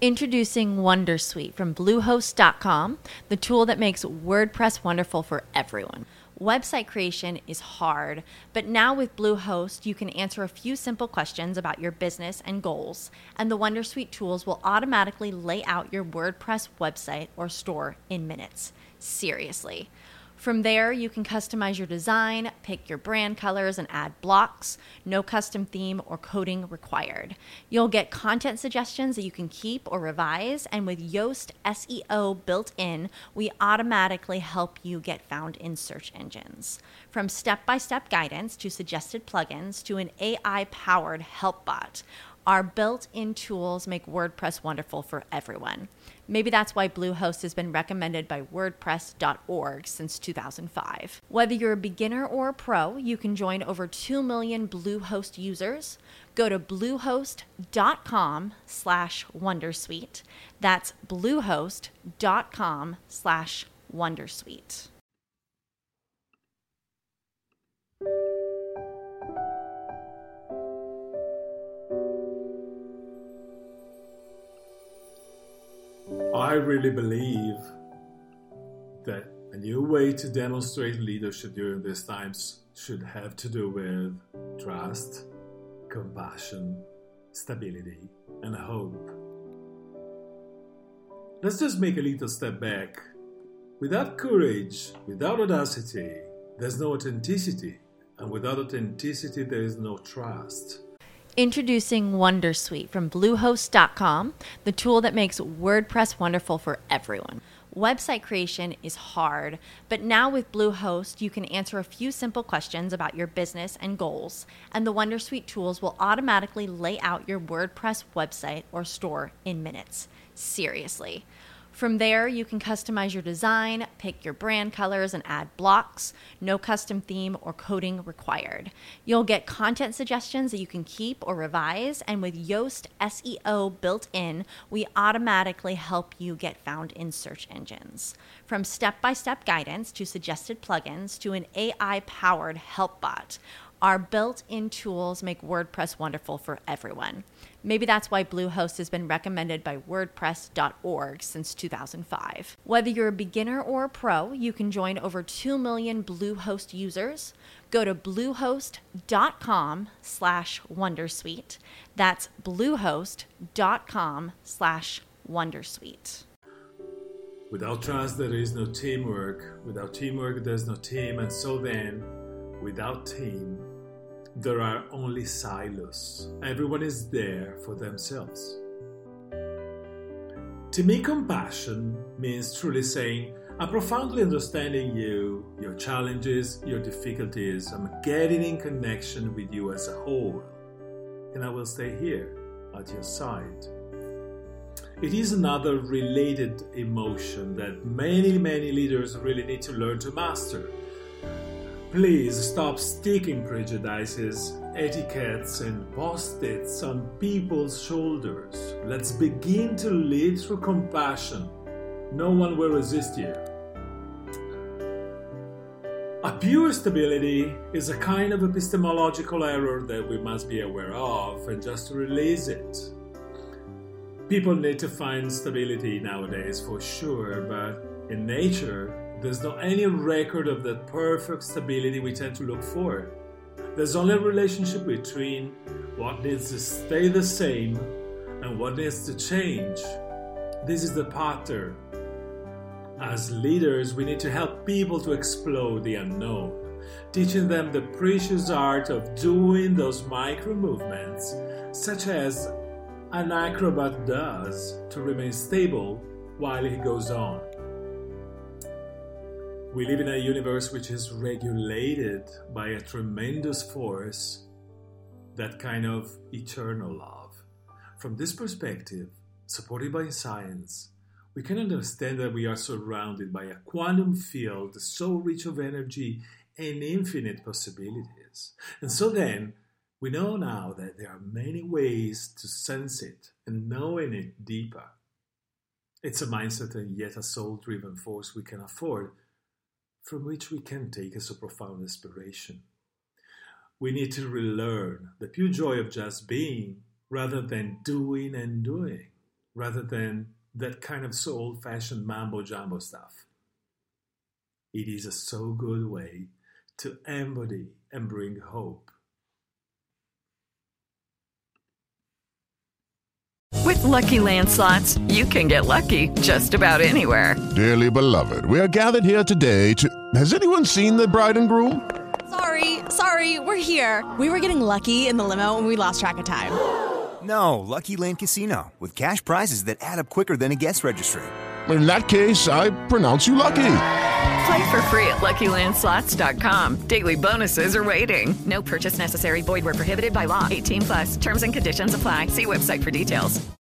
Introducing Wondersuite from Bluehost.com, the tool that makes WordPress wonderful for everyone. Website creation is hard, but now with Bluehost, you can answer a few simple questions about your business and goals, and the Wondersuite tools will automatically lay out your WordPress website or store in minutes. Seriously. From there, you can customize your design, pick your brand colors, and add blocks. No custom theme or coding required. You'll get content suggestions that you can keep or revise, and with Yoast SEO built in, we automatically help you get found in search engines. From step-by-step guidance to suggested plugins to an AI-powered help bot, our built-in tools make WordPress wonderful for everyone. Maybe that's why Bluehost has been recommended by WordPress.org since 2005. Whether you're a beginner or a pro, you can join over 2 million Bluehost users. Go to bluehost.com/wondersuite. That's bluehost.com/wondersuite. I really believe that a new way to demonstrate leadership during these times should have to do with trust, compassion, stability, and hope. Let's just make a little step back. Without courage, without audacity, there's no authenticity. And without authenticity, there is no trust. Introducing Wondersuite from Bluehost.com, the tool that makes WordPress wonderful for everyone. Website creation is hard, but now with Bluehost, you can answer a few simple questions about your business and goals, and the Wondersuite tools will automatically lay out your WordPress website or store in minutes. Seriously. From there, you can customize your design, pick your brand colors, and add blocks. No custom theme or coding required. You'll get content suggestions that you can keep or revise, and with Yoast SEO built in, we automatically help you get found in search engines. From step-by-step guidance to suggested plugins to an AI-powered help bot, our built-in tools make WordPress wonderful for everyone. Maybe that's why Bluehost has been recommended by WordPress.org since 2005. Whether you're a beginner or a pro, you can join over 2 million Bluehost users. Go to bluehost.com/wondersuite. That's bluehost.com/wondersuite. Without trust, there is no teamwork. Without teamwork, there's no team. And so then, without team, there are only silos. Everyone is there for themselves. To me, compassion means truly saying, I'm profoundly understanding you, your challenges, your difficulties. I'm getting in connection with you as a whole. And I will stay here at your side. It is another related emotion that many leaders really need to learn to master. Please stop sticking prejudices, etiquettes, and post-its on people's shoulders. Let's begin to lead through compassion. No one will resist you. A pure stability is a kind of epistemological error that we must be aware of and just release it. People need to find stability nowadays for sure, but in nature, there's not any record of that perfect stability we tend to look for. There's only a relationship between what needs to stay the same and what needs to change. This is the pattern. As leaders, we need to help people to explore the unknown, teaching them the precious art of doing those micro movements, such as an acrobat does, to remain stable while he goes on. We live in a universe which is regulated by a tremendous force, that kind of eternal love. From this perspective, supported by science, we can understand that we are surrounded by a quantum field so rich of energy and infinite possibilities. And so then, we know now that there are many ways to sense it and knowing it deeper. It's a mindset and yet a soul-driven force we can afford, from which we can take as a profound inspiration. We need to relearn the pure joy of just being rather than doing and doing. rather than that kind of so old-fashioned mambo-jumbo stuff. It is a so good way to embody and bring hope. With Lucky Land Slots, you can get lucky just about anywhere. Dearly beloved, we are gathered here today to... Has anyone seen the bride and groom? Sorry, we're here. We were getting lucky in the limo and we lost track of time. No, Lucky Land Casino, with cash prizes that add up quicker than a guest registry. In that case, I pronounce you lucky. Play for free at LuckyLandSlots.com. Daily bonuses are waiting. No purchase necessary. Void where prohibited by law. 18+. Terms and conditions apply. See website for details.